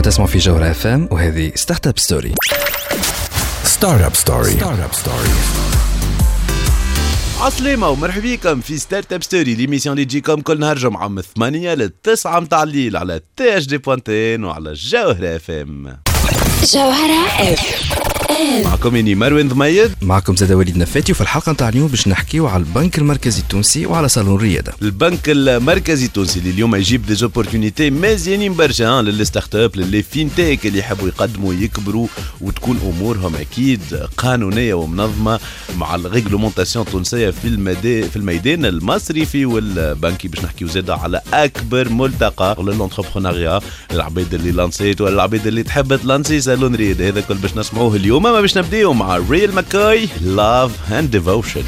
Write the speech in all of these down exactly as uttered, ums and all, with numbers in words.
تسمع في جوهرة اف ام وهذه ستارت اب ستوري. ستارت اب ستوري. ستارت اب ستوري. عسلامة ومرحبا بكم في ستارت اب ستوري، ليميسيون اللي تجيكم كل نهار جمعة من ثمانية للتسعة متاع الليل على تي اش دي بوانتين وعلى جوهرة اف ام. جوهرة اف ام معكم اني مروان ضميد، معكم زاد وليد نفاتي. وفي الحلقة نتاع اليوم باش نحكيو على البنك المركزي التونسي وعلى صالون الريادة. البنك المركزي التونسي اللي اليوم يجيب دي زوبورتونيتي مزيانين برشا للستارت اب، للي فينتيك اللي يحبوا يقدموا يكبروا وتكون امورهم اكيد قانونيه ومنظمه مع الريغلومونتاسيون التونسيه في الميدان في الميدان المصرفي والبنكي. باش نحكيو زاده على اكبر ملتقى للانتربرونيا، العباد اللي لانسيت ولا العباد اللي تحب تلانسي صالون ريادة. هذا كل باش نسمعوه اليوم. ما باش نبداو مع ريال ماكاي Love and Devotion.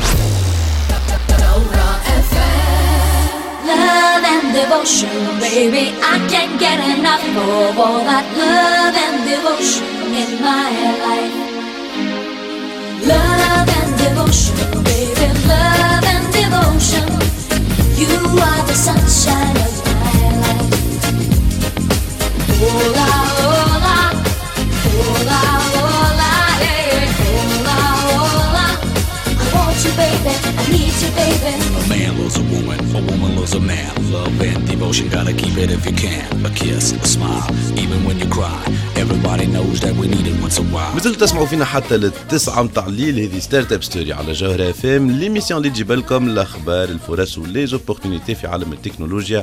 Love and devotion, baby, I can't get enough of all that love and devotion in my life. Love and devotion, baby, love and devotion. You are the sunshine of my life. Hola, hola, hola, hola, hey, hola, hola. I want you, baby, I need you, baby. A man loves a woman, a woman loves a man. Love and devotion, gotta keep it if you can. A kiss, a smile, even when you cry. Everybody knows that we need it once a while. مازلتوا تسمعوا فينا حتى للتسعة متاع الليل. هذه ستارت اب ستوري على جوهرة اف ام، ليميسيون اللي تجيب لكم الاخبار، الفرص ولي زوبورتونيتي في عالم التكنولوجيا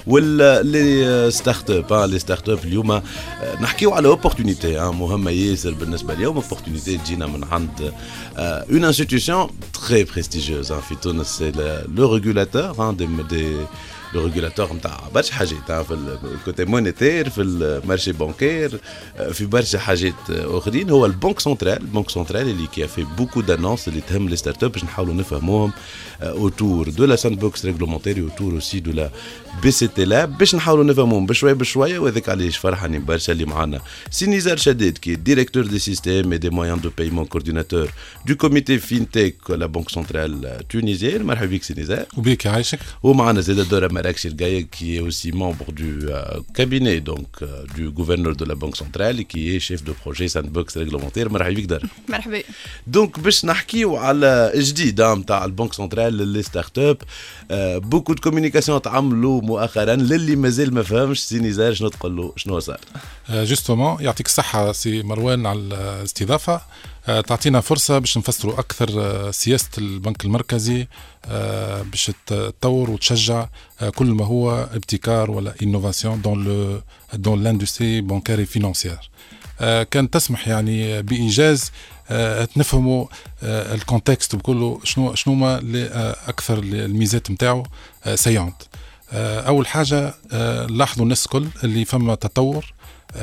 واللي ستارت اب. لي ستارت اب اليوم نحكيو على اوبورتونيتي مهمه ياسر بالنسبه اليوم. اوبورتونيتي تجينا من عند اون انستيتيوشن تري بريستيجيوز في تونس، سي لو ريغولاتور دي دي لو ريغولاتور نتاع برشا حاجات في الكوتي مونيتير، في المارشي بانكير، في برشا حاجات اخرين. هو البنك سنترال، البنك سنترال اللي كي في بوكو دانونس اللي تهم لي ستارت اب باش نحاولوا نفهموهم اوتور دو لا ساند بوكس ريغلومونتير اوتور اوسي دو لا بي سي تي لاب، باش نحاولوا نفهموهم بشويه بشويه. وهذاك علاش فرحانين برشا اللي معنا سي نزار شديد كي ديريكتور دي سيستيم اي دي مويان دو بايمون كورديناتور دو كوميتي فينتيك لا بنك سنترال تونيزيان. مرحبا بك سي نزار. وبيك عايشك. ومعنا زيد دورة مراكشي الجاي qui est aussi membre du euh, cabinet donc euh, du gouverneur de la Banque centrale et qui est chef de projet sandbox réglementaire. مرحبا بك دار. مرحبا. دونك باش نحكيو على جديد نتاع البنك سنترال للي ستارت اب. بوكو دو كوميونيكاسيون تعملوا مؤخرا، للي مازال ما فهمش سي نزار شنو تقول له شنو صار. جوستومون يعطيك الصحه سي مروان على الاستضافه. تعطينا فرصة باش نفسروا أكثر سياسة البنك المركزي باش تطور وتشجع كل ما هو ابتكار ولا إنوفاسيون دون لو دون لاندستري بانكاري فينانسيير. كان تسمح يعني بإيجاز نفهموا الكونتكست بكله شنو شنو ما أكثر الميزات متاعه سيانت. أول حاجة لاحظوا الناس كل اللي فما تطور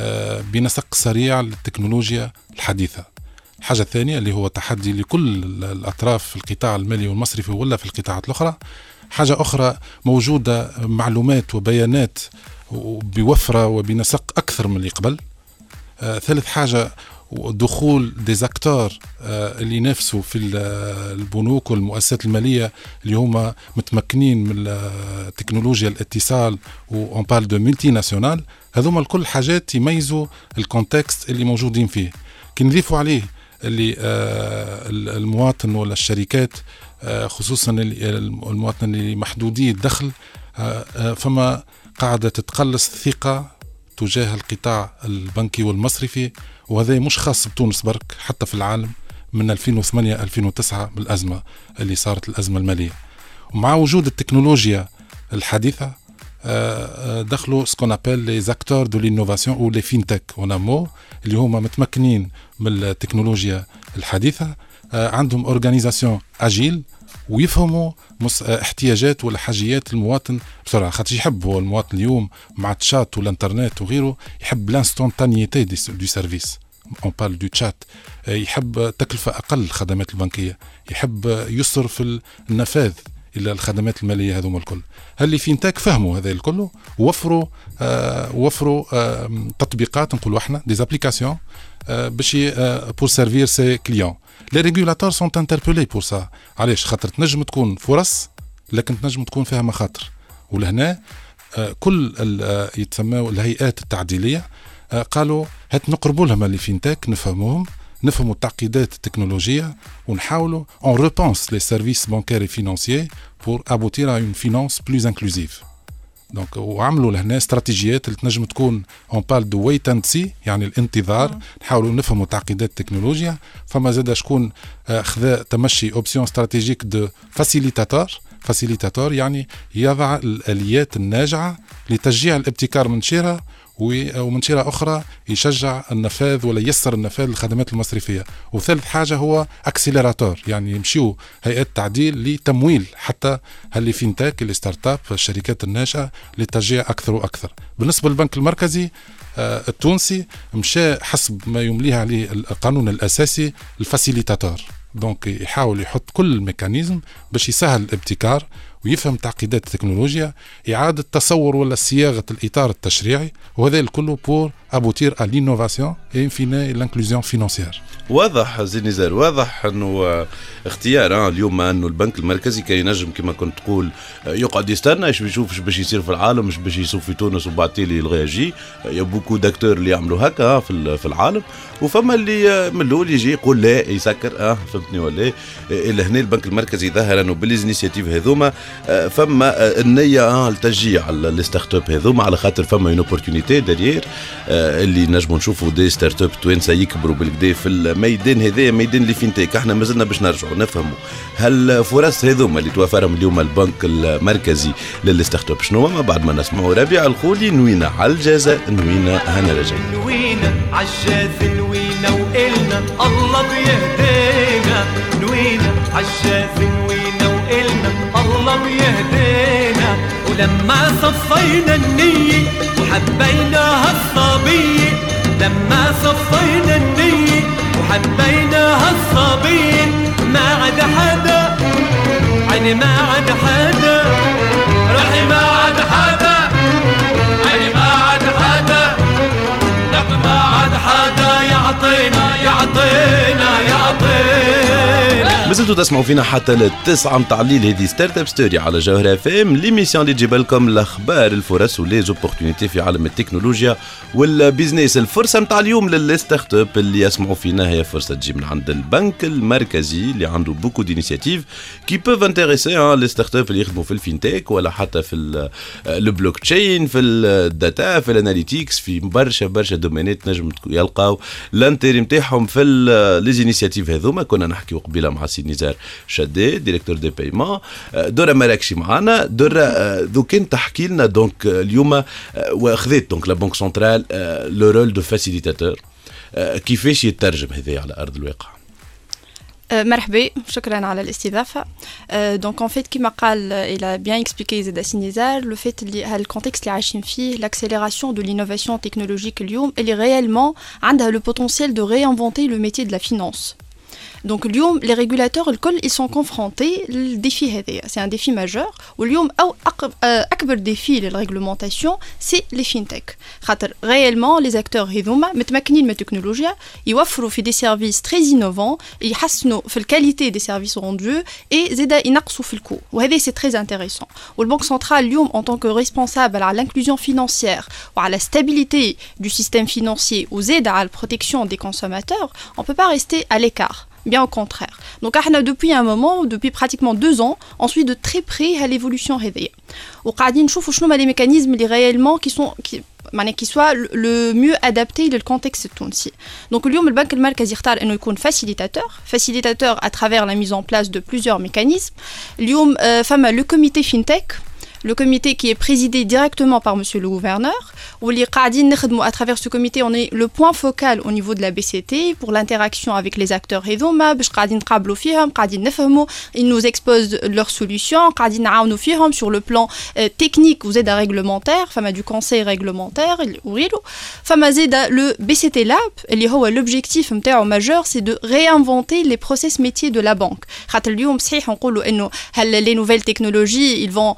بنسق سريع للتكنولوجيا الحديثة. الحاجة الثانية اللي هو تحدي لكل الأطراف في القطاع المالي والمصرفي ولا في القطاعات الأخرى. حاجة أخرى موجودة معلومات وبيانات بوفرة وبنسق أكثر من اللي قبل. آه ثالث حاجة دخول ديزاكتور آه اللي ينافسوا في البنوك والمؤسسات المالية اللي هم متمكنين من تكنولوجيا الاتصال وون بارل دو ملتي ناسيونال. هذوما الكل حاجات يميزوا الكونتكست اللي موجودين فيه. كي نضيفوا عليه اللي آه المواطن ولا الشركات آه خصوصا المواطن اللي محدودي الدخل آه آه فما قاعدة تتقلص الثقة تجاه القطاع البنكي والمصرفي، وهذا مش خاص بتونس برك، حتى في العالم من ألفين وثمانية ألفين وتسعة بالأزمة اللي صارت الأزمة المالية. ومع وجود التكنولوجيا الحديثة دخلوا سكون ابل لي زاكتور دو لينوفاسيون او لي فينتك ونامو اللي هما متمكنين من التكنولوجيا الحديثة، عندهم اورغانيزاسيون اجيل ويفهموا احتياجات ولا حاجيات المواطن بسرعه. خاطر يحب هو المواطن اليوم مع التشات والانترنت وغيره يحب لانستونتانيتي دو سيرفيس، اون بارل دو تشات، يحب تكلفه اقل الخدمات البنكيه، يحب يسر في النفاذ الى الخدمات الماليه. هذوما الكل هل فينتاك فهموا هذا الكل ووفروا آه وفروا آه تطبيقات نقولوا احنا دي ابليكاسيون آه باش بور سيرفير سي كليون. لي ريغولاتور سون انتربيلي بور سا. علاش؟ خاطر تنجم تكون فرص لكن تنجم تكون فيها مخاطر. ولهنا آه كل يتسموا الهيئات التعديليه قالوا هات نقربوا لهم اللي فينتك نفهموهم نفهموا التعقيدات التكنولوجية ونحاولوا on repense les services bancaires et financiers pour aboutir à une finance plus inclusive. دونك وعملوا لهنا استراتيجيات اللي تنجم تكون اون بال دو ويت اند سي يعني الانتظار نحاولوا نفهموا تعقيدات التكنولوجيا. فما زاد شكون خذا تمشي اوبسيون استراتيجيك دو فاسيليتاتور. فاسيليتاتور يعني يضع الاليات الناجعه لتشجيع الابتكار من شيره ومن شيرة أخرى يشجع النفاذ ولا ييسر النفاذ للخدمات المصرفية. وثالث حاجة هو أكسيلراتور يعني يمشيوا هيئات تعديل لتمويل حتى اللي فينتاك اللي ستارت اب الشركات الناشئة لتشجيع أكثر وأكثر. بالنسبة للبنك المركزي التونسي مشى حسب ما يمليه عليه القانون الأساسي الفاسيليتاتور. دونك يحاول يحط كل الميكانيزم باش يسهل الابتكار ويفهم تعقيدات التكنولوجيا إعادة تصور ولا صياغة الإطار التشريعي وهذا الكل pour aboutir à l'innovation et in fine l'inclusion financière. واضح زي نزار واضح انه اختيار اليوم انه البنك المركزي كان ينجم كما كنت تقول يقعد يستنى ايش بيشوف ايش باش يصير في العالم ايش باش يصير في تونس وبعد تالي يلغي يجي يا بوكو داكتور اللي يعملوا هكا في في العالم وفما اللي من الاول يجي يقول لا يسكر اه فهمتني ولا الا هنا البنك المركزي ظهر انه بالانيشيتيف هذوما فما النيه التشجيع الستارت اب هذوما على خاطر فما اون اوبورتونيتي دير اللي نجموا نشوفوا دي ستارت اب توانسه يكبروا بالكدا في الميدان هذا ميدان اللي فينتك. احنا مازلنا باش نرجعوا نفهموا هل فرص هذوما اللي توفرهم اليوم البنك المركزي للستارت اب شنو ما بعد ما نسمعوا ربيع الخولي نوينا على الجازة نوينا هنا رجعنا نوينا على الجازة نوينا وقلنا الله بيهدينا نوينا على الجازة نوينا وقلنا الله بيهدينا ولما صفينا النية وحبيناها الصبية لما صفينا النية وحبيناها الصبية ما عاد حدا عيني ما عاد حدا روحي ما عاد حدا عيني ما عاد حدا لك ما عاد حدا يعطينا يعطينا يعطينا. مازلتوا تسمعوا فينا حتى للتسعة متاع الليل هذه ستارت اب ستوري على جوهر اف ام ليميسيون اللي تجيب لكم الاخبار الفرص وليزوبورتينيتي في عالم التكنولوجيا والبيزنس. الفرصه متاع اليوم للستارت اب اللي يسمعوا فينا هي فرصه تجي من عند البنك المركزي اللي عنده بوكو دينيسياتيف كي بوف انتريسي لي ستارت اب اللي يخدموا في الفينتك ولا حتى في البلوك تشين في الداتا في الاناليتيكس في برشا برشا دومينات نجم يلقاو الانتري نتاعهم في لي انيسياتيف هذوما. كنا نحكيو قبيله مع سي نزار شداد ديريكتور دي بايمون. دورة مراكشي معنا. دورة ذو كان تحكي لنا دونك اليوم واخذت دونك لا بنك سنترال لو رول دو فاسيليتاتور كيفاش يترجم هذا على ارض الواقع؟ مرحبا شكرا على الاستضافه. دونك ان فيت كيما قال il a bien expliqué زاد سينيزار لو فيت اللي هالكونتكست اللي عايشين فيه l'accélération de l'innovation technologique اليوم اللي réellement عندها le potentiel de réinventer le métier de la finance. Donc اليوم les régulateurs الكل ils sont confrontés للديفي هذا. C'est un défi majeur. واليوم أو أكبر défi للرéglementation c'est les fintech. خاطر réellement les acteurs هذوما متمكنين من التكنولوجيا يوفروا في des services très innovants يحسنوا في الكاليتي des services rendus et زيدا ينقصوا في الكو. وهذا c'est très intéressant. والبنك سنترال اليوم en tant que responsable على l'inclusion financière وعلى la stabilité du système financier وزيدا على la protection des consommateurs on peut pas rester à l'écart. Bien au contraire. Donc, on a depuis un moment, depuis pratiquement deux ans, on suit de très près à l'évolution réveillée. On a dit que les mécanismes les réellement qui sont qui, qui soient le, le mieux adaptés au contexte tunisien. Donc, aujourd'hui, le Banque Markazi اختار انه يكون facilitateur, facilitateur à travers la mise en place de plusieurs mécanismes. Aujourd'hui, euh, femme le comité FinTech. Le comité qui est présidé directement par monsieur le gouverneur, où les qa'adin نخدموا à travers ce comité on est le point focal au niveau de la B C T pour l'interaction avec les acteurs هذوما باش قاعدين نقابلوا فيهم قاعدين نفهموا ils nous exposent leurs solutions قاعدين نعاونوا فيهم sur le plan euh, technique وزيدا réglementaire فما du conseil réglementaire وغيره فما زيدا le B C T Lab اللي هو l'objectif نتاعو majeur c'est de réinventer les process métiers de la banque خاطر اليوم صحيح نقولوا انه هل les nouvelles technologies ils vont euh,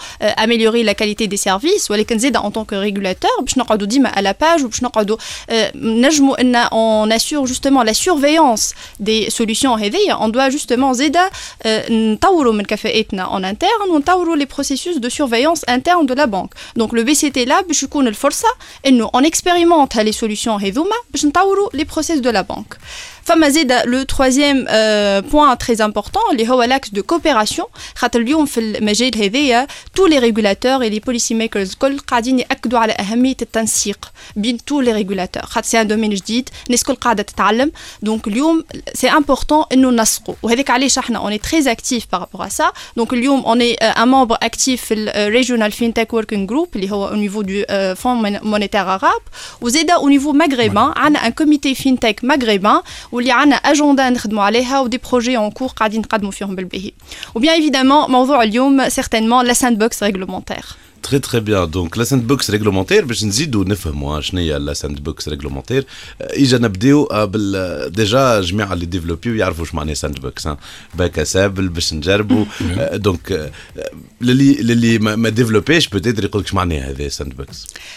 améliorer la qualité des services ولكن زيد en tant que régulateur باش نقعدوا ديما à la page وباش نقعدوا نجموا ان on assure justement la surveillance des solutions هذيا. on doit justement زيد نطوروا من كفاءتنا en interne ونطوروا les processus de surveillance interne de la banque. donc le B C T là باش يكون الفرصه انه on expérimente les solutions هذوما باش نطوروا les process de la banque. فما زيد le troisième euh, point très important اللي هو l'axe de coopération. خاطر اليوم في المجال هذايا tous les régulateurs et les policy makers كل قاعدين يأكدوا على أهمية التنسيق بين tous les régulateurs. خاطر c'est un domaine جديد الناس كل قاعدة تتعلم. donc اليوم c'est important إنه نسقوا وهذاك علاش احنا on est très actif par rapport à ça. donc اليوم on est un membre actif في ال Regional FinTech Working Group اللي هو au niveau du euh, Fonds monétaire arabe وزيدا au niveau maghrébin عنا un comité FinTech maghrébin واللي عنا اجنده نخدموا عليها ودي بروجي اون كور قاعدين نقدموا فيهم بالباهي. وبيان ايفيدامون موضوع اليوم سيغتينمون لا ساند بوكس ريغلومونتير. Très très bien. Donc la sandbox réglementaire باش نزيدوا نفهموا شنو هي لا sandbox réglementaire. اجا نبداو بال ديجا جميع اللي ديفلوبيو يعرفوا واش معناه sandbox باك اسابل باش نجربوا. دونك للي للي ما ديفلوبيش بوتيتر يقول لك اش معناه هذا sandbox.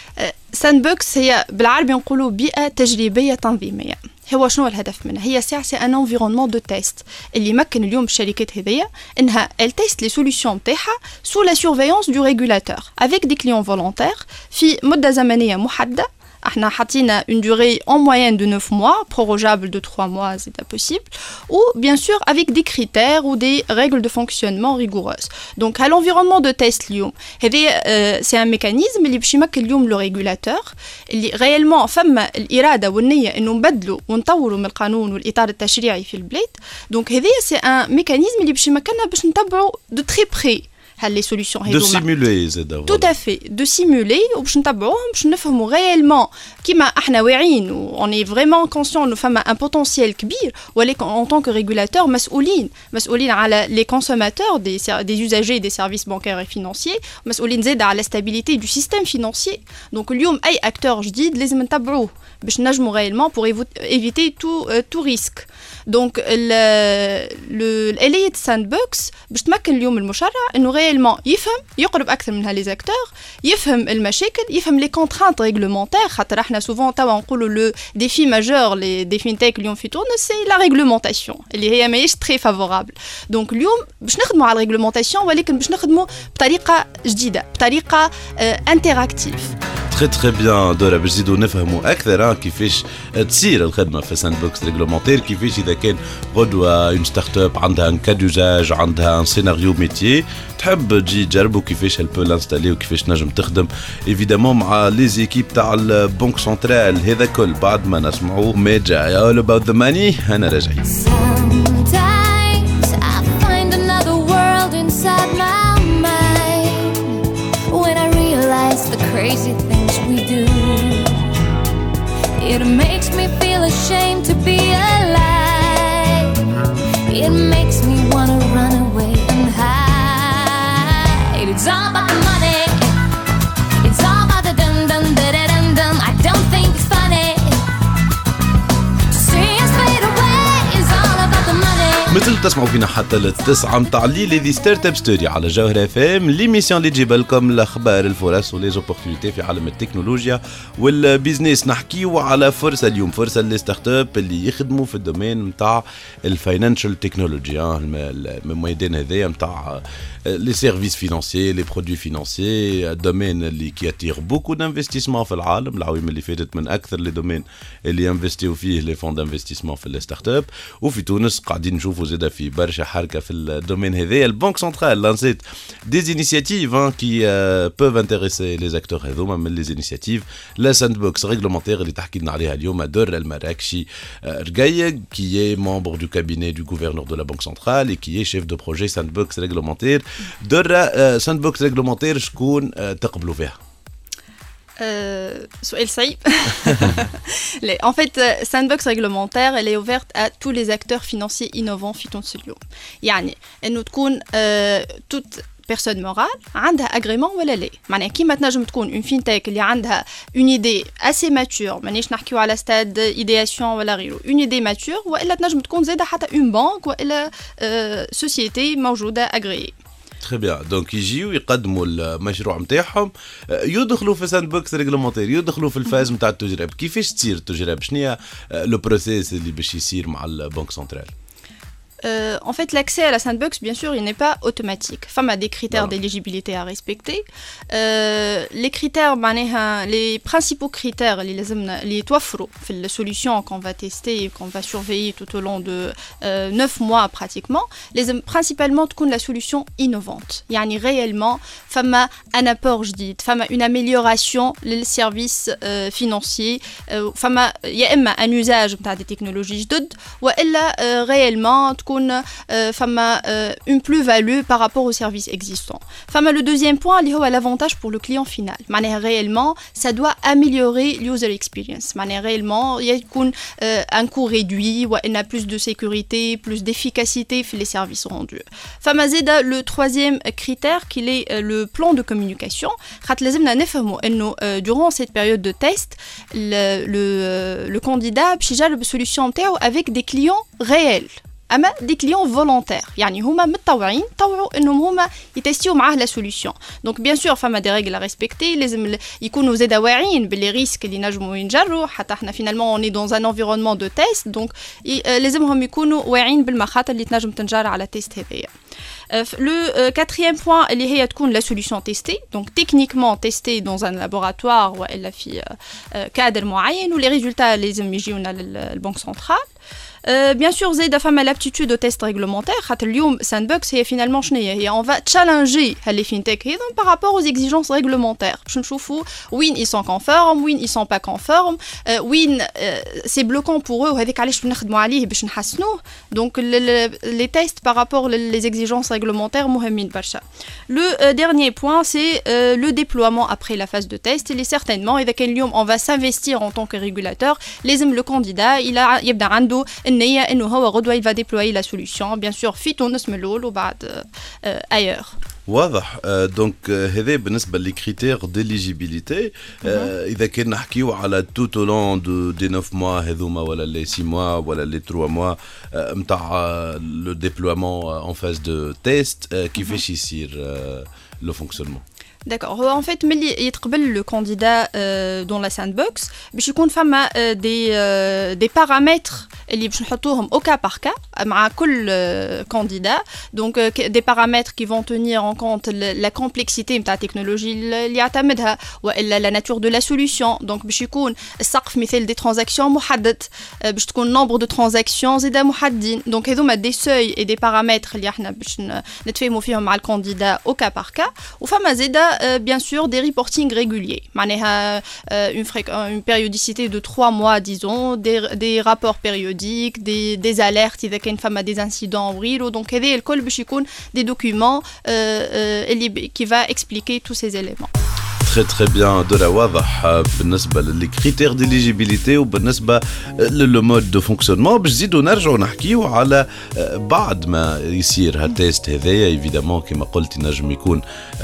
sandbox هي بالعربي نقولوا بيئه تجريبيه تنظيميه. هو شنو الهدف منها؟ هي ساعة سي ان انفيرونمون دو تيست اللي يمكن اليوم الشركات هذيا انها ال تيست لي سوليوشن نتاعها سو لا سورفيونس دو ريغولاتور افيك دي كليون فولونتير في مدة زمنية محددة. احنا حاطين une durée en moyenne de neuf mois, prorogeable de trois mois, c'est possible, ou bien sûr avec des critères ou des règles de fonctionnement rigoureuses. Donc à l'environnement de test اليوم هذا c'est un mécanisme اللي باش يمكن اليوم le régulateur اللي réellement فما الإرادة والنية إنه نبدلوا ونطوروا من القانون والإطار التشريعي في البلاد. donc هذا c'est un mécanisme اللي باش يمكننا باش نتبعوا de très près les solutions de simuler زاد. tout à fait de simuler وباش نتبعوهم باش نفهموا réellement كيما احنا واعيين و on est vraiment conscient انه فما un potentiel كبير ولكن en tant que régulateur مسؤولين مسؤولين على les consommateurs des des usagers des services bancaires et financiers مسؤولين زاد على la stabilité du système financier. donc اليوم اي acteur جديد لازم نتبعوه باش نجموا réellement pour éviter tout euh, tout risque. donc le الآلية sandbox باش تمكن اليوم المشرع انه réellement يفهم يقرب اكثر من هالي زاكتور يفهم المشاكل يفهم لي كونترانت ريغلومونتير. خاطر احنا سوفون توا نقولوا لو ديفي ماجور لي دي فينتيك اليوم في تونس سي لا ريغلومونتاسيون اللي هي ماهيش تري فافورابل. دونك اليوم باش نخدموا على الريغلومونتاسيون ولكن باش نخدموا بطريقه جديده بطريقه انتراكتيف. تري تري بيان دورا باش نزيدوا نفهموا اكثر كيفاش تصير الخدمه في ساند بوكس ريغلومونتير. كيفاش اذا كان غدوه اون ستارت اب عندها ان كادوزاج عندها ان سيناريو ميتيي تحب تجي تجربوا كيفاش البو لانستالي وكيفاش نجم تخدم ايفيدامون مع لي زيكيب تاع البنك سنترال. هذا كل بعد ما نسمعوا ميجا all about the money. انا راجعين. The crazy things we do, it makes me feel ashamed to be alive. It makes me wanna run away and hide. It's all about the money. It's all about the dun dun dun dun dun. I don't think it's funny to see us fade away. It's all about the money. مثل تسمعوا فينا حتى للتسعة متاع الليل هذه ستارت اب ستوري على جوهر اف ام ليميسيون اللي تجيب لكم الاخبار الفرص وليزوبورتينيتي في عالم التكنولوجيا والبيزنس. نحكيو على فرصه اليوم فرصه لي ستارت اب اللي يخدموا في الدومين نتاع الفاينانشال تكنولوجي الميدان هذايا نتاع لي سيرفيس فينانسيي لي برودوي فينانسيي. الدومين اللي كياتير بوكو دانفستيسمون في العالم. العوامل اللي فاتت من اكثر لي دومين اللي انفستيو فيه لي فون دانفستيسمون في لي ستارت اب. وفي تونس قاعدين نشوفوا زاده في برشا حركه في الدومين هذايا. البنك سنترال لانسيت دي انيشيتيف كي بوف انتريسي لي اكتور هذوما من لي انيشيتيف لا ساند بوكس ريغلومونتير اللي تحكي لنا عليها اليوم دور المراكشي رقايق كي ممبر دو كابيني دو غوفرنور دو لا بنك سنترال اي كي شيف دو بروجي ساند بوكس ريغلومونتير. دور ساند بوكس ريغلومونتير شكون تقبلوا فيها؟ Euh, سؤال صعيب. En fait, Sandbox réglementaire, elle est ouverte à tous les acteurs financiers innovants في تونس اليوم. يعني إنه تكون toute personne morale عندها agrément ولا لا. معناها كيما تنجم تكون une fintech اللي عندها une idée assez mature مانيش نحكيو على stade idéation ولا غيره une idée mature وإلا تنجم تكون زادة حتى une banque وإلا société موجودة agréée. تري بيان. دونك يجيو يقدموا المشروع نتاعهم، يدخلوا في ساند بوكس ريغلومونتير، يدخلوا في الفاز نتاع التجربه. كيفاش تصير التجربه؟ شنو هي لو بروسيس اللي باش يصير مع البنك سنترال؟ Euh, en fait, l'accès à la sandbox, bien sûr, il n'est pas automatique. Femme a des critères voilà. d'éligibilité à respecter. Euh, les critères, les principaux critères, les les توفروا في la solution qu'on va tester et qu'on va surveiller tout au long de euh, neuf mois pratiquement. Les principalement تكون la solution innovante. يعني réellement, femme a un apport جديد, femme a une amélioration les services euh, financiers, femme a يا إما un usage بتاع des technologies جدد, وإلا euh, réellement تكون فما une plus-value par rapport aux services existants. فما le deuxième point اللي هو l'avantage pour le client final. معناها réellement ça doit améliorer l'user experience. معناها réellement يكون un coût réduit وإن a plus de sécurité, plus d'efficacité في les services rendus. فما زيدا le troisième critère qui est le plan de communication. خاطر لازمنا نفهموا إنه durant cette période de test le le le candidat باش يجرب السوليوشن نتاعو avec des clients réels. اما دي كليون فولونتير يعني هما متطوعين طوعوا انهم هما يتستيو معاه لا سوليوشن. دونك بيان سور فما دي ريغل ريسبكتي، لازم يكونوا زاده واعيين باللي ريسك اللي نجموا ينجروا، حتى احنا فينالمون اوني دون ان انفيرونمون دو تيست، دونك لازمهم يكونوا واعيين بالمخاطر اللي تنجم تنجر على تيست هذايا. Le quatrième point اللي هي تكون la solution testée, donc techniquement testée dans un laboratoire وإلا في cadre معين و les résultats لازم يجيونا للبنك سنترال. Euh, bien sûr, زيدا فما l'aptitude au test réglementaire. خاطر اليوم sandbox هي finalement شنو هي؟ هي on va challenger les fintech هذم par rapport aux exigences réglementaires. باش نشوفوا وين ils sont conformes, وين ils sont pas conformes, euh, وين euh, c'est bloquant pour eux وهذيك علاش نخدموا عليه باش نحسنوه. Donc les tests par rapport les exigences réglementaires مهمين برشا. Le euh, dernier point c'est euh, le déploiement après la phase de test. Il est certainement إذا كان اليوم on va s'investir en tant que régulateur, لازم le candidat il a يبدا عنده النية إنه هو غدوة il va déployer la solution bien sûr في تونس من الأول وبعد ailleurs. واضح. دونك هذا بالنسبه للكريتير ديليجيبيليتي. اذا كان نحكيو على توت لون دو دي neuf موا هذوما ولا لي six موا ولا لي trois موا نتاع لو ديبلويمون اون فاز دو تيست، كيفاش يصير لو فونكسيونمون؟ D'accord. En fait, ملي يتقبل le candidat euh, dans la sandbox, باش يكون فما euh, des euh, des paramètres اللي باش نحطوهم au cas par cas مع كل euh, candidat. Donc euh, des paramètres qui vont tenir en compte la complexité نتاع التكنولوجي اللي يعتمدها والا la nature de la solution. Donc باش يكون السقف مثال des transactions محدد، euh, باش تكون nombre de transactions زيدا محددين. Donc هذوما des seuils et des paramètres اللي احنا باش نتفاهموا فيهم مع الكانديدا au cas par cas. وفما زيدا Euh, bien sûr des reporting réguliers, معناها euh, une, fré- une périodicité de trois mois disons, des, des rapports périodiques, des, des alertes إذا كان فما des incidents وغيره. donc هذا الكل باش يكون des documents euh, euh, اللي qui va expliquer tous ces éléments. très très bien. دورة واضح بالنسبة للكريتير ديليجيبيليتي وبالنسبة للمود دو فونكسيونمون. باش نزيدو نرجعو نحكيو على بعد ما يصير هالتيست هذايا. ايفيدامون كما قلت نجم يكون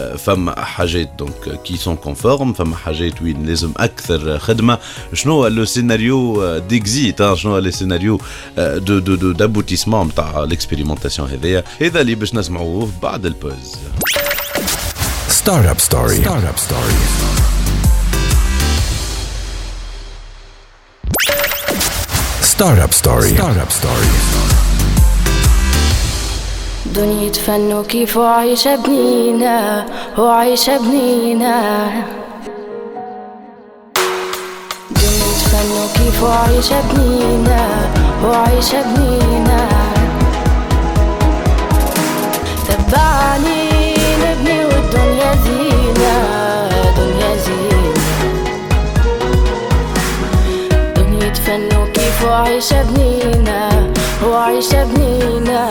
فما حاجات دونك كي سون كونفورم، فما حاجات وين لازم اكثر خدمة. شنو هو لو سيناريو ديكزيت، شنو هو لي سيناريو دو دو دو دابوتيسمون نتاع ليكسبيريمونطاسيون هذايا؟ هذا اللي باش نسمعوه بعد البوز. Startup Story. Startup Story. Startup Story. Startup Story. دنيا فنو كيف عايشة بنينا وعايشة بنينا، دنيا فنو كيف عايشة بنينا وعايشة بنينا. تبعني نبني والدنيا زينة، دنيا زينة، دنيا فنو كيف عايشة بنينا وعايشة بنينا.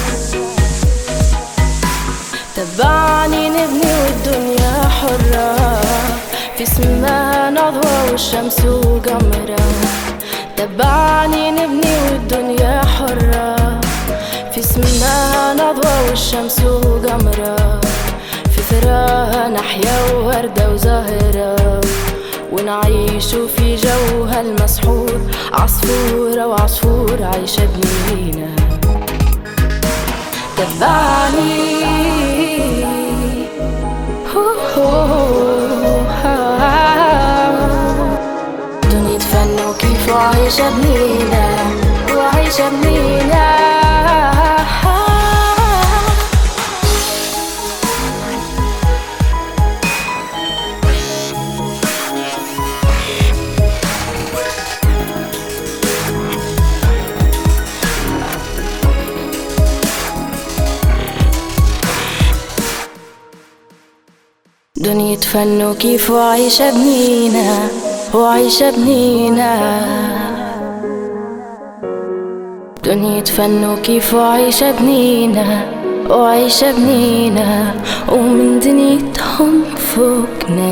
تبعني نبني والدنيا حرة، في سماها نضوى والشمس وقمرة. تبعني نبني والدنيا حرة، في سماها نضوى والشمس وقمرة. في ثراها نحيا ووردة وزهرة، ونعيش في جوها المسحور. عصفورة وعصفور عايشة بنينا، تبعني دنيا فن وكيف وعيشة بنينة وعيشة بنينة دنيا فن وكيف وعيشة بنينة وعيشة بنينة دنيا فن وكيف وعيشة بنينة وعيشة بنينة ومن دنيتهم فوقنا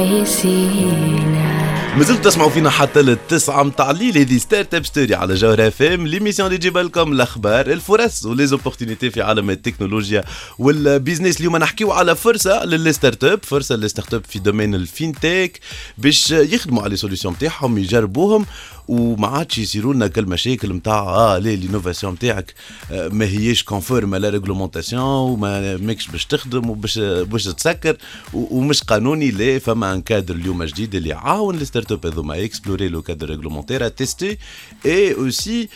يسينا. مازلتوا تسمعوا فينا حتى للتسعة متاع الليل. هذه ستارت اب ستوري على جوهر اف ام، ليميسيون اللي تجيب لكم الاخبار الفرص وليزوبورتينيتي في عالم التكنولوجيا والبيزنس. اليوم نحكيو على فرصه للستارت اب، فرصه للستارت اب في دومين الفينتك باش يخدموا على سوليسيون نتاعهم يجربوهم وما عادش يصيروا لنا كالمشاكل نتاع اه لي لينوفاسيون نتاعك آه ما هيش كونفورم لا ريغلومونطاسيون وما ماكش باش تخدم وباش باش تسكر ومش قانوني. لا فما ان كادر اليوم جديد اللي عاون الستارت اب هذوما اكسبلوري لو كادر ريغلومونتير تيستي اي اوسي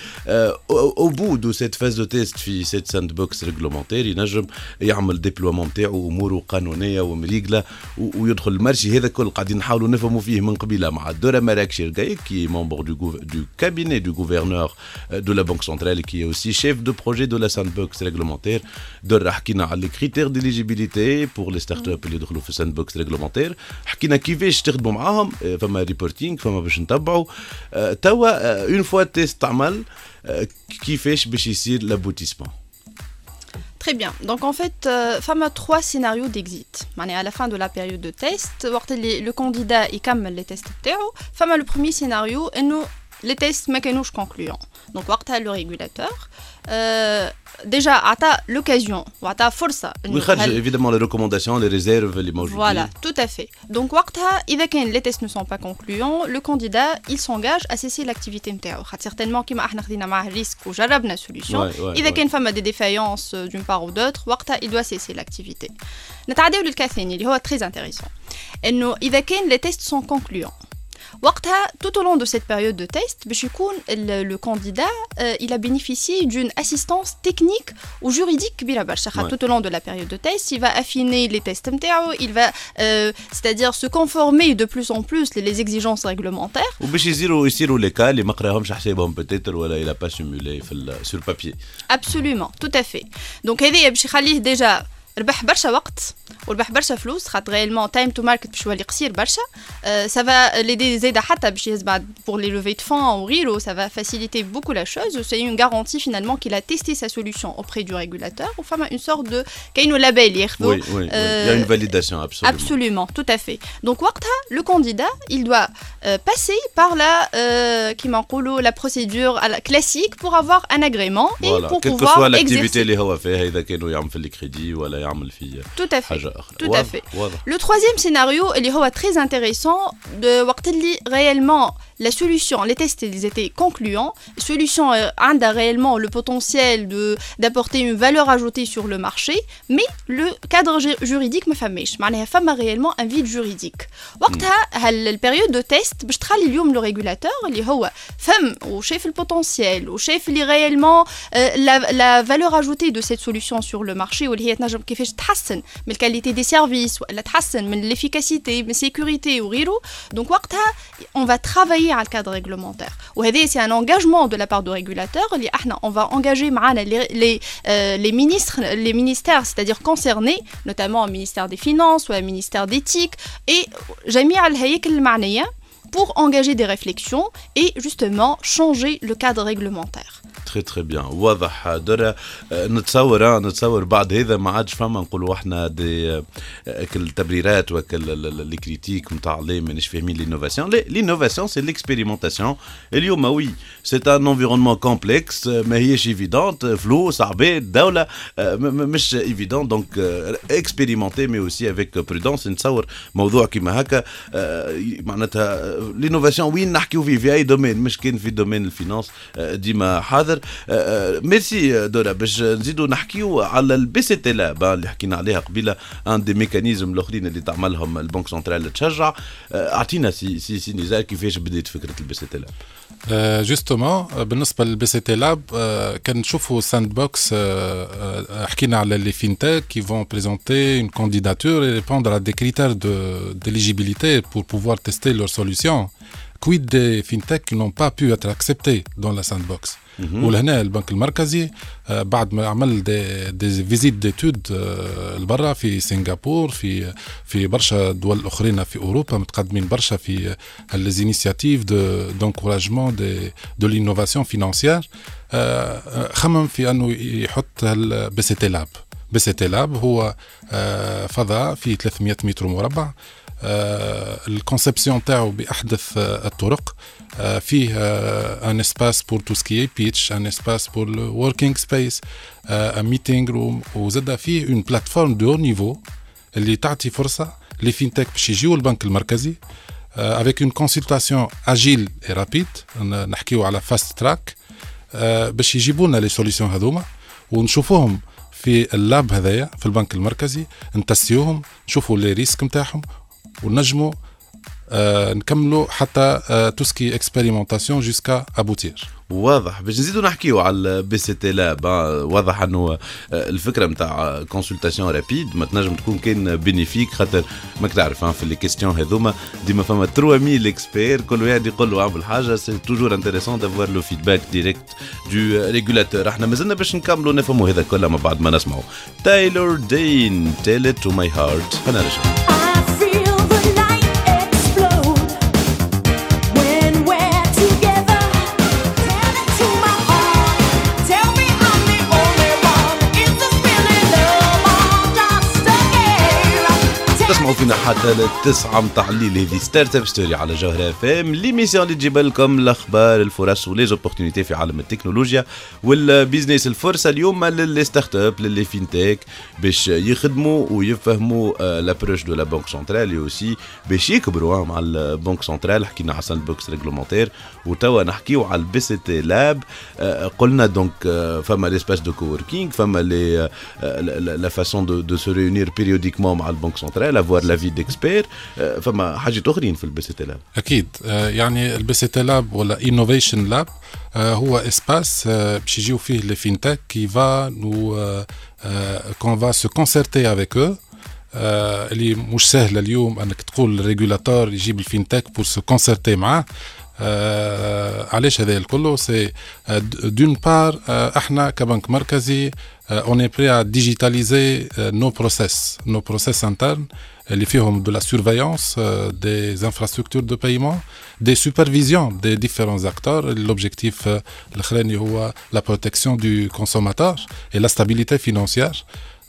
او بو دو سيت فاز دو تيست في سيت ساند بوكس ريغلومونتير ينجم يعمل ديبلومون نتاعو اموره قانونيه ومريقله ويدخل المارشي. هذا كل قاعدين نحاولوا نفهموا فيه من قبيله مع الدوره مراكش الجايك كي ممبر دو du cabinet du gouverneur de la Banque centrale qui est aussi chef de projet de la sandbox réglementaire. دور حكينا على les critères d'éligibilité pour les startups اللي يدخلوا في sandbox réglementaire. حكينا كيفاش تخدموا معاهم، فما ريبورتينغ فما باش نتبعوا توا une fois تيست تعمل كيفاش باش يصير l'aboutissement. Très bien. Donc en fait, euh, femme a trois scénarios d'exit. À la fin de la période de test, le candidat il calme les tests. Femme a le premier scénario et nous les tests mécanismes concluants. Donc le régulateur euh, déjà a l'occasion ou a force. Oui, évidemment les recommandations, les réserves, les mots. Voilà, tout à fait. Donc إذا كان les tests ne sont pas concluants, le candidat il s'engage à cesser l'activité نتاعو. Certainement كيما احنا خدينا معاه risque وجربنا solution. إذا كان فما des défaillances d'une part ou d'autre, وقتها il doit cesser l'activité. نتعداو للكا ثاني اللي هو très intéressant. إنه إذا كان les tests sont concluants. وقتها tout au long de cette période de test باش يكون le candidat euh, il a bénéficié d'une assistance technique ou juridique كبيرة برشا. tout au long de la période de test il va affiner les tests نتاعو, il va euh, c'est-à-dire se conformer de plus en plus les, les exigences réglementaires وباش يصيروا يصيروا les cas اللي ما قراهمش حسابهم peut-être ولا il a pas simulé في sur papier. Absolument, tout à fait. Donc هذا باش يخليه déjà ربح برشا وقت وربح برشا فلوس خاطر réellement time to market باش يولي قصير برشا. ça va l'aider زايده حتى باش يسبع pour les levées de fonds ou غيره. Ça va faciliter beaucoup la chose. C'est une garantie finalement qu'il a testé sa solution auprès du régulateur ou enfin une sorte de كاينو label ياخذوا. Oui, oui, euh, il y a une validation absolument. Absolument, tout à fait. Donc وقتها le candidat il doit euh, passer par la euh, qui m'enقولوا la procédure classique pour avoir un agrément et voilà. pour Quelle pouvoir que soit l'activité exercer. اللي هو فيها إذا كانوا يعمل في الكريدي ولا يعمل في Tout à fait. Tout à fait. Voilà. Le troisième scénario, il est très intéressant de voir réellement la solution, les tests ils étaient concluants. La solution a réellement le potentiel de d'apporter une valeur ajoutée sur le marché, mais le cadre juridique ما فماش. معناها فما réellement un vide juridique. وقتها الpériode de test باش تخلي اليوم le régulateur اللي هو فهم وشاف البوتنسيال وشاف اللي réellement la la valeur ajoutée de cette solution sur le marché واللي هي تنجم كيفاش تحسن من الكاليتي دي سيرفيس ولا تحسن من ليفيكاسيتي من سيكوريتي وغيره. دونك وقتها on va travailler على الكادر ريغلومونتير وهذا سي ان انغاجمون دو لا بار دو ريغولاتور اللي احنا on va engager معنا les les euh, les ministres les ministères c'est-à-dire concernés notamment le ministère des finances ou le ministère d'éthique et جميع الهياكل المعنيه pour engager des réflexions et justement changer le cadre réglementaire. Très très bien. واضح درا نتصور نتصور بعد هذا ما عادش فما نقولوا احنا دي كل تبريرات وكل لي كريتيك نتاع لي مانيش فاهمين لينوفاسيون. لينوفاسيون سي ليكسبيريمونطاسيون. اليوم وي سي ان انفيرونمون كومبلكس ما هيش ايفيدونت فلوس عباد دوله مش ايفيدونت دونك اكسبيريمونتي مي اوسي افيك برودونس. نتصور موضوع كيما هكا معناتها لينوفاسيون وين نحكيو فيه في اي دومين مش كان في دومين الفينانس ديما حاضر النظر. ميرسي دورا. باش نزيدوا نحكيو على البي سي تي لاب اللي حكينا عليها قبيله، ان دي ميكانيزم الاخرين اللي تعملهم البنك سنترال تشجع. اعطينا سي سي سي نزار كيفاش بدات فكره البي سي تي لاب. جوستومون بالنسبه للبي سي تي لاب كان نشوفوا ساند بوكس. حكينا على لي فينتك qui vont présenter une candidature et répondre à des critères de d'éligibilité pour pouvoir tester leurs solutions. Quid des fintech qui n'ont pas pu être acceptés dans la sandbox. ولهنا البنك المركزي بعد ما عمل دي, دي فيزيت ديتود لبرا في سنغافور، في في برشا دول اخرين في اوروبا متقدمين برشا في les initiatives de d'encouragement de de l'innovation financière. خمم في انه يحط البي سي تي لاب. بي سي تي لاب هو فضاء في ثلاثمية متر مربع. الكونسبسيون تاعو باحدث الطرق. فيه ان اسباس بور تو سكي بيتش، ان اسباس بور الوركينج سبيس، ان ميتينغ روم، وزاد فيه اون بلاتفورم دو نيفو اللي تعطي فرصه لي فينتك باش يجيو البنك المركزي افيك اون كونسلتاسيون اجيل اي رابيد. نحكيو على فاست تراك باش يجيبوا لنا لي سوليسيون هذوما ونشوفوهم في اللاب هذايا في البنك المركزي، نتسيوهم، نشوفوا لي ريسك نتاعهم ونجموا آه نكملوا حتى آه توسكي اكسبيريمونطاسيون جوسكا ابوتير. واضح. باش نزيدوا نحكيو على البي سي تي لاب. واضح انه الفكره نتاع كونسلتاسيون رابيد ما تنجم تكون كان بينيفيك، خاطر ماك تعرف في لي كيستيون هذوما ديما فما ثلاث مية اكسبير، كل واحد يقول له اعمل حاجه. سي توجور انتريسون دافوار لو فيدباك ديريكت دو ريغولاتور. احنا مازلنا باش نكملوا نفهموا هذا كله ما بعد ما نسمعوا تايلور دين تيل ات تو ماي هارت. فنرجع. تسمعوا فينا حتى للتسعة متاع الليل. هذه ستارت اب ستوري على جوهرة اف ام، ليميسيون اللي تجيب لكم الاخبار، الفرص وليزوبورتينيتي في عالم التكنولوجيا والبيزنس. الفرصه اليوم للي ستارت اب، للي فينتك، باش يخدموا ويفهموا لابروش دو لا بنك سنترال اوسي باش يكبروا مع البنك سنترال. حكينا على ساند بوكس ريغلومونتير وتوا نحكيو على البي سي تي لاب. قلنا دونك فما ليسباس دو كووركينغ، فما لي لا فاسون دو دو سو ريونير بيريوديكمون مع البنك سنترال، avoir la vie d'expert. فما حاجات اخرين في البي سي تي لاب. اكيد. يعني البي سي تي لاب ولا انوفيشن لاب هو اسباس باش يجيو فيه لي فينتك كي فا نو كون فا سو كونسيرتي افيك او. اللي مش سهل اليوم انك تقول الريغولاتور يجيب الفينتك بور سو كونسيرتي معاه. آه علاش هذا الكل؟ سي دون بار احنا كبنك مركزي اون اي بري ا ديجيتاليزي نو بروسيس نو بروسيس انترن اللي فيهم دو لا سورفيونس دي انفراستركتور دو بايمون، دي سوبرفيزيون دي ديفيرونس اكتور. لوبجيكتيف الاخراني هو لا بروتكسيون دو كونسوماتور اي لا ستابيليتي فينانسيير.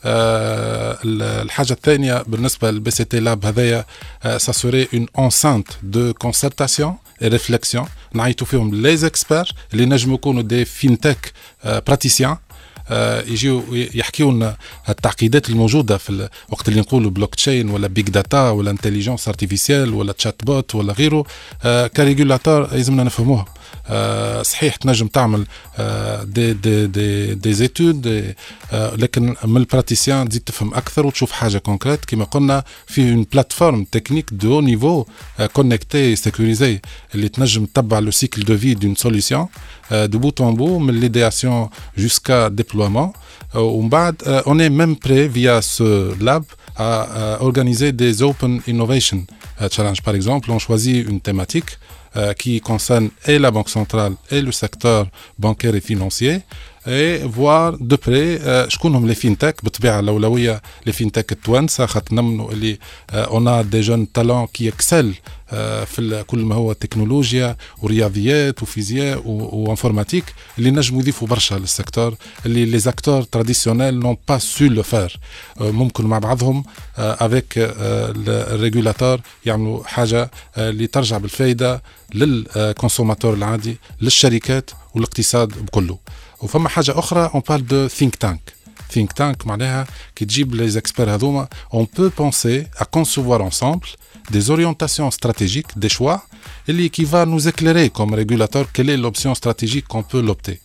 أه الحاجة الثانية بالنسبة للبي سي تي لاب هذايا سا سوري اون انسانت دو كونسرتاسيون اي ريفليكسيون نعيطوا فيهم لي زيكسبير اللي نجموا يكونوا دي فينتك براتيسيان يجيو يحكيوا لنا التعقيدات الموجوده في الوقت اللي نقولوا بلوك تشين ولا بيج داتا ولا انتليجنس ارتيفيسيال ولا تشات بوت ولا غيره. كريغولاتور لازمنا نفهموها. صحيح تنجم تعمل دي دي دي دي زيتود دي لكن من البراتيسيان تزيد تفهم اكثر وتشوف حاجه كونكريت. كما قلنا في اون بلاتفورم تكنيك دو نيفو كونيكتي سيكوريزي اللي تنجم تتبع لو سيكل دو في دون سوليسيون دو بوت ان بو من ليدياسيون جوسكا ديبلويمون. ومن بعد اون اي ميم بري فيا سو لاب à organiser des open innovation challenge. Par exemple, on choisit une thématique euh, qui concerne et la Banque centrale et le secteur bancaire et financier, et voir de près شكون هم les fintech. بالطبيعة الأولوية les fintech التوانسة خاطر نمنوا اللي on a des jeunes talents qui excellent في كل ما هو تكنولوجيا ورياضيات وفيزياء وانفورماتيك اللي نجموا يضيفوا برشا للسيكتور اللي لي زاكتور تراديسيونيل نون با سو لو فير. ممكن مع بعضهم افيك الريغولاتور يعملوا حاجه اللي ترجع بالفائده للكونسوماتور العادي، للشركات والاقتصاد بكله. وفما حاجه اخرى اون بارل دو ثينك تانك. ثينك تانك معناها كي تجيب لي زيكسبير هذوما اون بو بونسي ا كونسوفوار انسامبل des orientations stratégiques, des choix, et qui va nous éclairer comme régulateur quelle est l'option stratégique qu'on peut l'opter.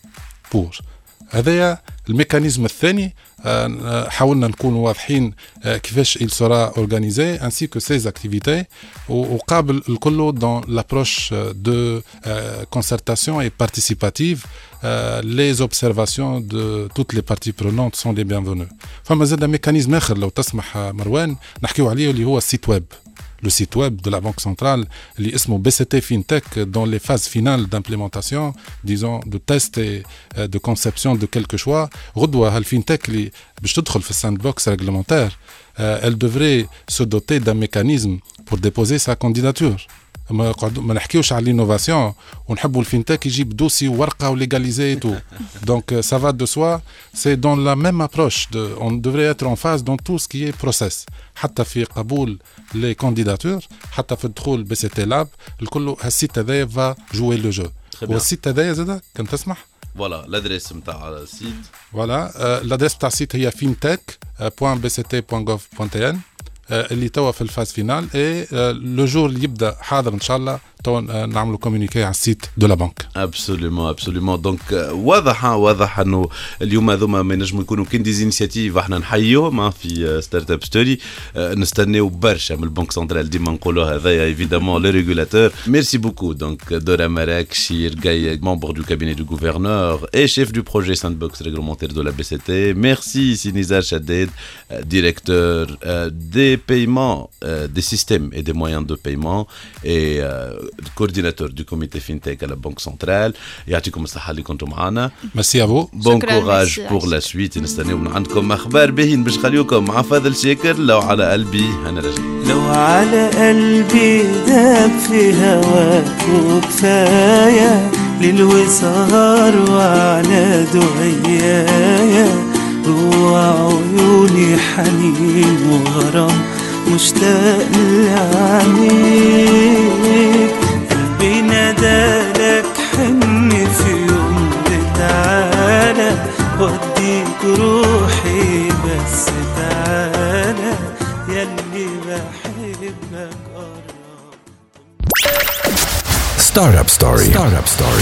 بور. هذايا الميكانيزم الثاني. حاولنا نكون واضحين كيفاش il sera organisé ainsi que ses activités وقابل الكل dans l'approche de concertation et participative. Les observations de toutes les parties prenantes sont les bienvenues. فما زاد ميكانيزم آخر لو تسمح مروان نحكيو عليه اللي هو السيت ويب. Le site web de la Banque centrale, qui est B C T FinTech, dans les phases finales d'implémentation, disons, de test et euh, de conception de quelque choix. Redouah, le FinTech, qui est dans le sandbox réglementaire, euh, elle devrait se doter d'un mécanisme pour déposer sa candidature. ما ما نحكيوش على l'innovation ونحبوا الفينتك يجيب دوسي وورقه وليغاليزي تو دونك ça va de soi. C'est dans la même approche de, on devrait être en phase dans tout ce qui est process حتى في قبول les candidatures حتى في الدخول بي سي تي لاب الكل. هالسيت هذايا va jouer le jeu. والسيت هذايا زاد كان تسمح فوالا لادريس نتاع السيت. فوالا لادريس نتاع السيت هي fintech point b c t point gov point t n اللي توا في الفاز فينال. اي لو جور اللي يبدا حاضر ان شاء الله توا نعملوا كومونيكي على السيت دو لا بنك. ابسوليومون ابسوليومون. دونك واضح واضح انه اليوم هذوما ما ينجموا يكونوا كان دي انيشيتيف احنا نحيوهم في ستارت اب ستوري. نستناو برشا من البنك سنترال ديما نقولوا هذايا ايفيدامون لو ريغولاتور. ميرسي بوكو. دونك دورا مراك شير جاي ممبر دو كابيني دو غوفرنور اي شيف دو بروجي ساندبوكس ريغلومونتير دو لا بي سي تي. ميرسي سينيزار شداد ديريكتور دي paiements, euh, des systèmes et des moyens de paiement et euh, coordinateur du comité FinTech à la Banque centrale. يعطيكم الصحة اللي كنتم معنا. Merci à vous. Bon courage pour la suite. نستناو من عندكم أخبار باهين باش نخليوكم مع فاضل شاكر. لو على قلبي أنا راجع. لو على قلبي داب في هواك وكفاية للوصال وعلى دعيايا وعيوني حنين وغرام مشتاق لعينيك. قلبي نادالك حن في يوم تعالى وديك روحي بس تعالى يلي بحبك قرب. ستارت اب ستوري. ستارت اب ستوري.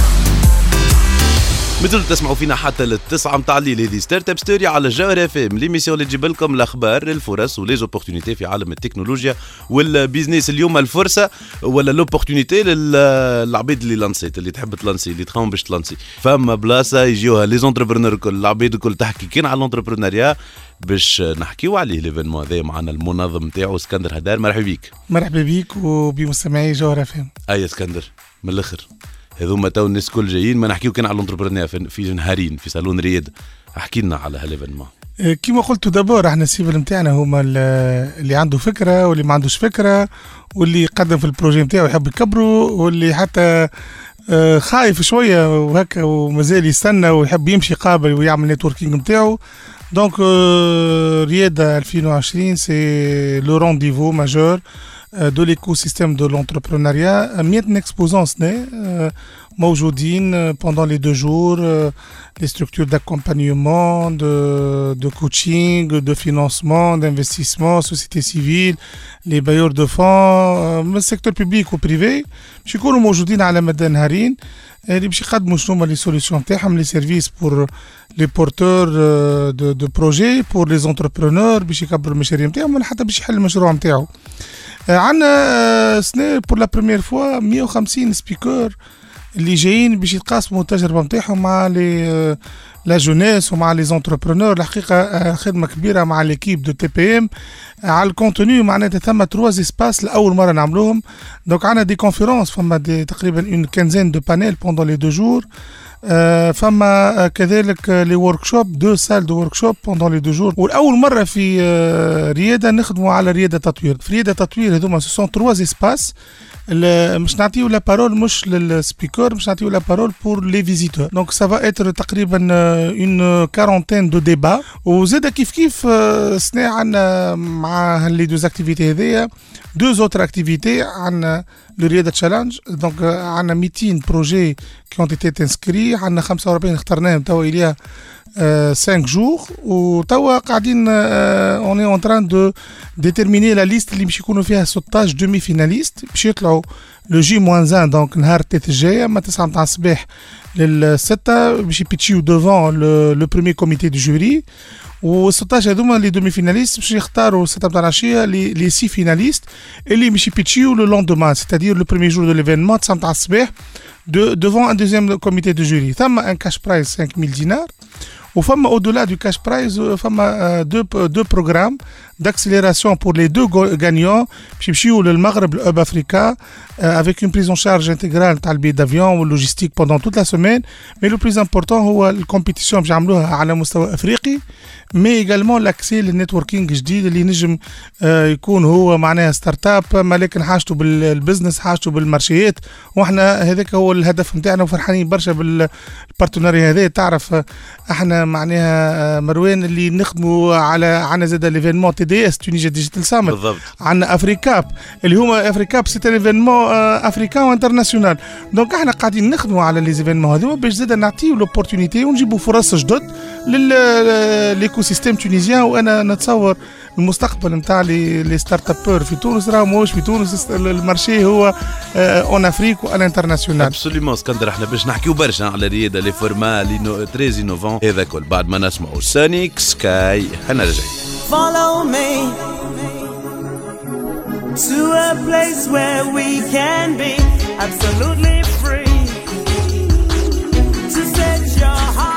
مثل تسمعوا فينا حتى للتسعة متاع الليل. هذه ستارت اب ستوري على جوهر اف ام، ليميسيون اللي تجيب لكم الاخبار الفرص وليزوبورتونيتي في عالم التكنولوجيا والبيزنس. اليوم الفرصه ولا لوبورتونيتي للعبيد اللي لانسيت، اللي تحب تلانسي، اللي تخاوم باش تلانسي. فما بلاصه يجيوها لي زونتربرونور الكل، العبيد الكل تحكي كان على الانتربرونيا باش نحكيو عليه. ليفينمون هذا معنا المنظم نتاعو اسكندر هدار. مرحبا بيك. مرحبا بيك وبمستمعي جوهر اف ام. اي اسكندر من الاخر هذوما تو الناس كل جايين، ما نحكيو كان على الانتربرونيا في نهارين في صالون رياض. احكي لنا على هاليفينمون. كيما قلت دابور احنا السيفل نتاعنا هما اللي عنده فكره واللي ما عندوش فكره، واللي يقدم في البروجي نتاعو يحب يكبره، واللي حتى خايف شويه وهكا ومازال يستنى ويحب يمشي قابل ويعمل نتوركينغ نتاعو. دونك رياضه ألفين وعشرين سي لو رونديفو ماجور de l'écosystème de l'entrepreneuriat. مئة exposants موجودين pendant les deux jours, les structures d'accompagnement, de, de coaching, de financement, d'investissement, société civile, les bailleurs de fonds, من السيكتور بيبليك وبريفي باش يكونوا موجودين على مدى نهارين اللي باش يقدموا شنو هما لي سوليسيون تاعهم، لي سيرفيس بور لي بورتور دو دو بروجي، بور لي زونتربرونور باش يكبروا المشاريع نتاعهم ولا حتى باش يحل المشروع نتاعو. عندنا سنة بور لا بريمير فوا مئة وخمسين سبيكر اللي جايين باش يتقاسموا التجربه نتاعهم مع لي لا جونيس ومع لي زونتربرونور. الحقيقه خدمه كبيره مع ليكيب دو تي بي ام على الكونتوني. معناتها ثم تروز اسباس لاول مره نعملوهم. دونك عندنا دي كونفيرونس، فما دي تقريبا اون كانزين دو بانيل بوندون لي دو جور. فما كذلك لي وركشوب، دو سال دو وركشوب بوندون لي دو جور. والاول مره في رياده نخدموا على رياده تطوير. في رياده تطوير هذوما سو سون تروز اسباس مش نعطيو لا بارول مش للسبيكر، مش نعطيو لا بارول بور لي فيزيتور. دونك سا فا اتر تقريبا اون كارونتين دو ديبا. وزاد كيف كيف سنا عندنا مع لي دوز اكتيفيتي هذيا دو زوتر اكتيفيتي. عندنا لو رياده تشالنج، دونك عندنا مئتين بروجي كي اون ايتي انسكري، عندنا خمسة وأربعين اخترناهم توا اليا cinq jours وتوا قاعدين on est en train de déterminer la liste اللي باش يكونوا فيها ستاشر demi finalistes باش يطلعوا le J moins un donc نهار الثلاث الجاية من تسعة متاع الصباح للستة باش يبيتشيو devant le, le premier comité du jury و ستاشر هذوما لي دومي فيناليست باش يختاروا ستة متاع العشية لي لي سي فيناليست اللي باش يبيتشيو لو لوندومان c'est-à-dire le premier jour de l'événement تسعة متاع الصباح de devant un deuxième comité de jury. ثم un cash prize cinq mille dinars. Ou femme au-delà du cash prize, femme euh, deux deux programmes d'accélération pour les deux gagnants. Puis ou le Maghreb, le Hub Africa, euh, avec une prise en charge intégrale de billet d'avion ou logistique pendant toute la semaine. Mais le plus important, c'est la compétition que j'ai à la مستوى أفريقي. Mais également l'accès au networking جديد اللي نجم يكون هو معناها ستارت اب ما لكن حاجته بالبزنس حاجته بالمارشيات واحنا هذاك هو الهدف نتاعنا وفرحانين برشا بالبارتنريا هذا تعرف احنا معناها مروان اللي نخدموا على عنا زاد ليفينمون تي دي اس تونيجيا ديجيتال سامت بالضبط عندنا افريكاب اللي هما افريكاب سي ليفينمون افريكان وانترناسيونال دونك احنا قاعدين نخدموا على لي زيفينمون هذوما باش زاد نعطيو لوبورتونيتي ونجيبوا فرص جدد للايكو سيستيم تونيزيان وانا نتصور المستقبل نتاع لي لي ستارت ابور في تونس راه ماهوش في تونس المارشي هو اون افريك وان انترناسيونال ابسوليومون اسكندر احنا باش نحكيو برشا على رياده لي فورما لي تريز انوفون هذا كل بعد ما نسمعوا سونيك سكاي انا رجعي Follow me to a place where we can be absolutely free to set your heart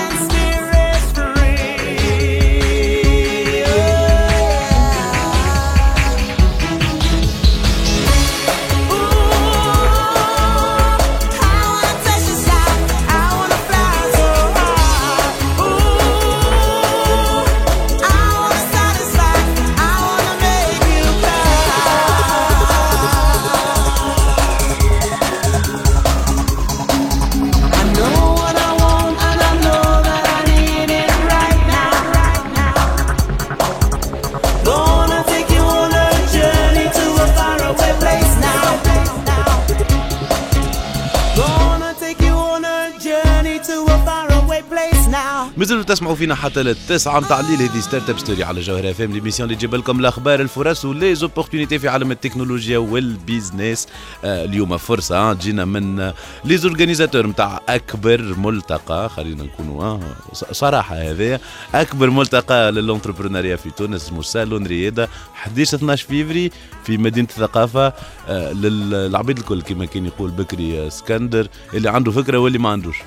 مازالوا تسمعوا فينا حتى للتسعة متاع الليل. هذه ستارت اب ستوري على جوهر اف ام ليميسيون اللي تجيب لكم الاخبار الفرص ولي زوبورتونيتي في عالم التكنولوجيا والبيزنس. آه اليوم فرصه جينا من لي زورغانيزاتور نتاع اكبر ملتقى، خلينا نكونوا آه صراحه هذا اكبر ملتقى للانتربرونيا في تونس اسمه سالون رياده واحد عشر اثناش فيفري في مدينه الثقافه. آه للعبيد الكل كما كان يقول بكري اسكندر اللي عنده فكره واللي ما عندوش.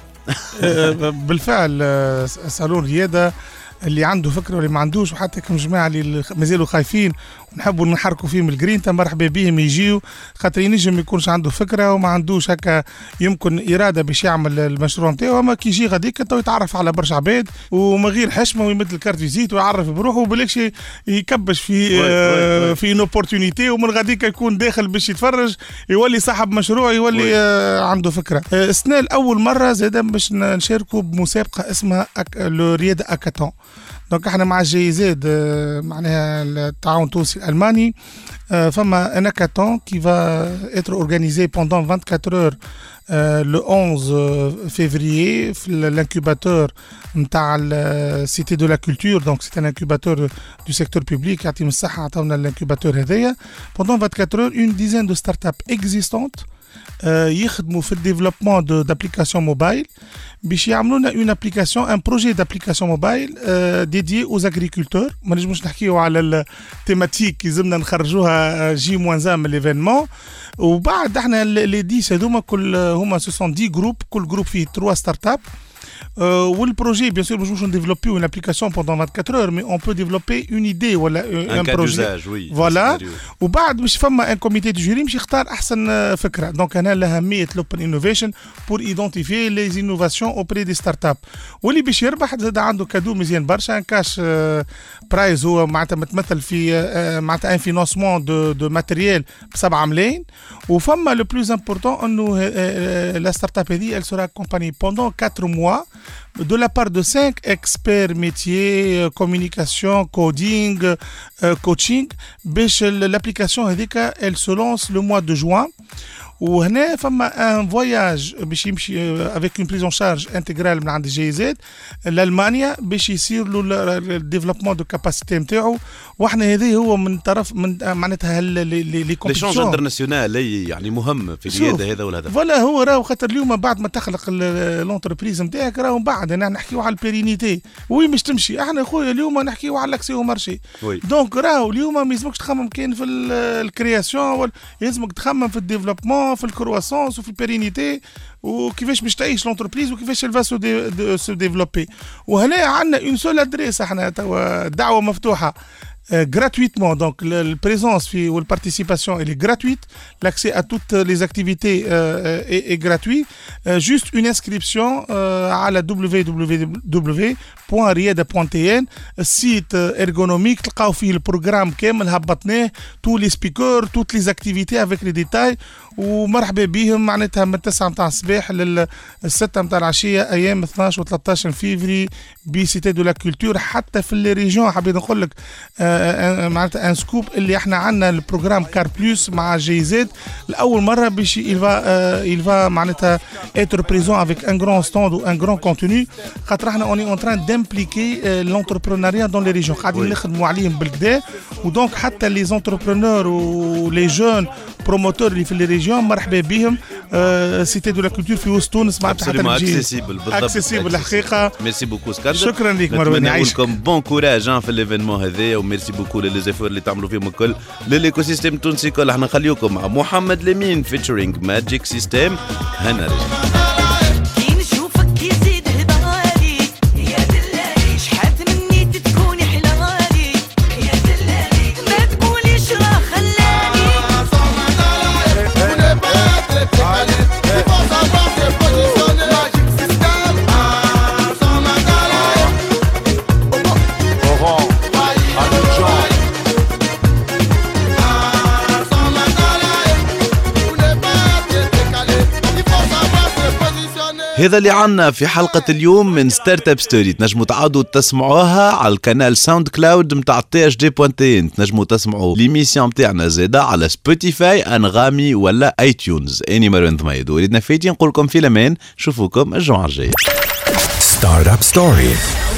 بالفعل سالون رياده اللي عنده فكره واللي ما عندوش، وحتى كم جماعه اللي مازالوا خايفين ونحبوا نحركوا فيهم الجرين مرحبا بهم يجيو، خاطر ينجم ما يكونش عنده فكره وما عندوش هكا يمكن اراده باش يعمل المشروع نتاعو، اما كي يجي غاديك تو يتعرف على برشا عباد ومن غير حشمه ويمد الكارت فيزيت ويعرف بروحه وبالكش يكبش في آه في ان اوبورتونيتي، ومن غاديك يكون داخل باش يتفرج يولي صاحب مشروع يولي آه عنده فكره. آه السنه الاول مره زاد باش نشاركوا بمسابقه اسمها لو رياده اكاتون. دونك احنا مع الجيزاد معناها التعاون التونسي الالماني فما ان هاكاثون كي فا اتر اورغانيزي بوندون vingt-quatre heures le onze février في l'incubateur نتاع السيتي دو لا كولتور. دونك سي ان انكوباتور دو سيكتور بوبليك يعطيهم الصحه عطاونا الانكوباتور هذايا بوندون vingt-quatre heures une dizaine de startups existantes يخدموا في الديفلوبمون دابليكاسيون موبايل باش يعملوا لنا اون ابليكاسيون ان بروجي دابليكاسيون موبايل ديديي اوز اغريكولتور. ما نجموش نحكيو على التيماتيك يلزمنا نخرجوها جي موان ان من ليفينمون، وبعد احنا لي ديس هذوما كل هما سوسون دي جروب، كل جروب فيه ثلاثة ستارت اب. Euh, le projet, bien sûr, nous allons développer une application pendant vingt-quatre heures, mais on peut développer une idée ou un, un projet. Oui, voilà. Ou بعد باش فما un comité de jury باش يختار أحسن فكرة. Donc أنا لأهمية l'open innovation pour identifier les innovations auprès des startups. واللي باش يربح زاد عنده كادو مزيان برشا، ان كاش برايز هو معناتها متمثل في معناتها ان فينانسمون دو دو ماتيريال بسبعة ملايين. وفما لو بلوز امبورتون انه لا ستارت اب هذه elle sera accompagnée pendant quatre mois de la part de cinq experts métiers, communication, coding, euh, coaching. L'application elle se lance le mois de juin. وهنا فما ان فواياج باش يمشي افيك اون بريزون شارج انتغرال من عند جي زد لالمانيا باش يصير له الديفلوبمون دو كاباسيتي نتاعو. واحنا هذا هو من طرف من معناتها لي كومبيتيشن لي انترناسيونال يعني مهم في الرياده هذا والهدف. فوالا هو راهو خاطر اليوم بعد ما تخلق لونتربريز نتاعك راهو بعد انا نحكيو على البيرينيتي وين باش تمشي. احنا خويا اليوم نحكيو على الاكسي او مارشي. دونك راهو اليوم ما يلزمكش تخمم كاين في الكرياسيون، يلزمك تخمم في الديفلوبمون في الكرواسونس وفي البيرينيتي وكيفاش باش تعيش لونتربريز وكيفاش الفا سو ديفلوبي. وهنا عندنا اون سول ادريس، احنا توا دعوه مفتوحه Euh, gratuitement, donc le, le présence ou la participation elle est gratuite, l'accès à toutes les activités euh, est, est gratuit, euh, juste une inscription euh, à la w w w point rieda point t n, site ergonomique, تلقاو فيه البروغرام كامل هبطناه tous les speakers, toutes les activités avec les détails. ومرحبا بهم معناتها من تسعة متاع الصباح للستة متاع العشية أيام اثناش و ثلاثة عشر فيفري بسيتي دو لا كولتور. حتى في لي ريجيون حبيت نقول لك معناتها ان سكوب اللي احنا عندنا البروغرام كار بلوس مع جي زد لأول مرة باش يلفا يلفا معناتها être présent avec un grand stand ou un grand contenu خاطر احنا اوني اون تران دامبليكي لونتربرونيا دون لي ريجيون قاعدين نخدموا عليهم بالكدا. ودونك حتى لي زونتربرونور و لي جون بروموتور اللي في لي ريجيون مرحبا بهم. سيتي دو لا كولتور في وسط تونس معناتها حتى اكسيسيبل بالضبط اكسيسيبل الحقيقه. ميرسي بوكو اسكندر، شكرا لك مروان، يعيشك بون كوراج في الايفينمون هذا، وميرسي بوكو لي زيفور اللي تعملوا فيهم الكل للايكو سيستيم التونسي كل. احنا نخليكم مع محمد لمين فيتشرينج ماجيك سيستيم. هنا رجع هذا اللي عنا في حلقة اليوم من ستارت اب ستوري. تنجموا تعودوا تسمعوها على القناة ساوند كلاود متاع تي اش دي بوان تي ان. تنجموا تسمعوا ليميسيون متاعنا زادا على سبوتيفاي انغامي ولا اي تيونز. اني مروان ضميد وريدنا فايتين نقول لكم في الامان، نشوفوكم الجمعة الجاية. ستارت اب ستوري.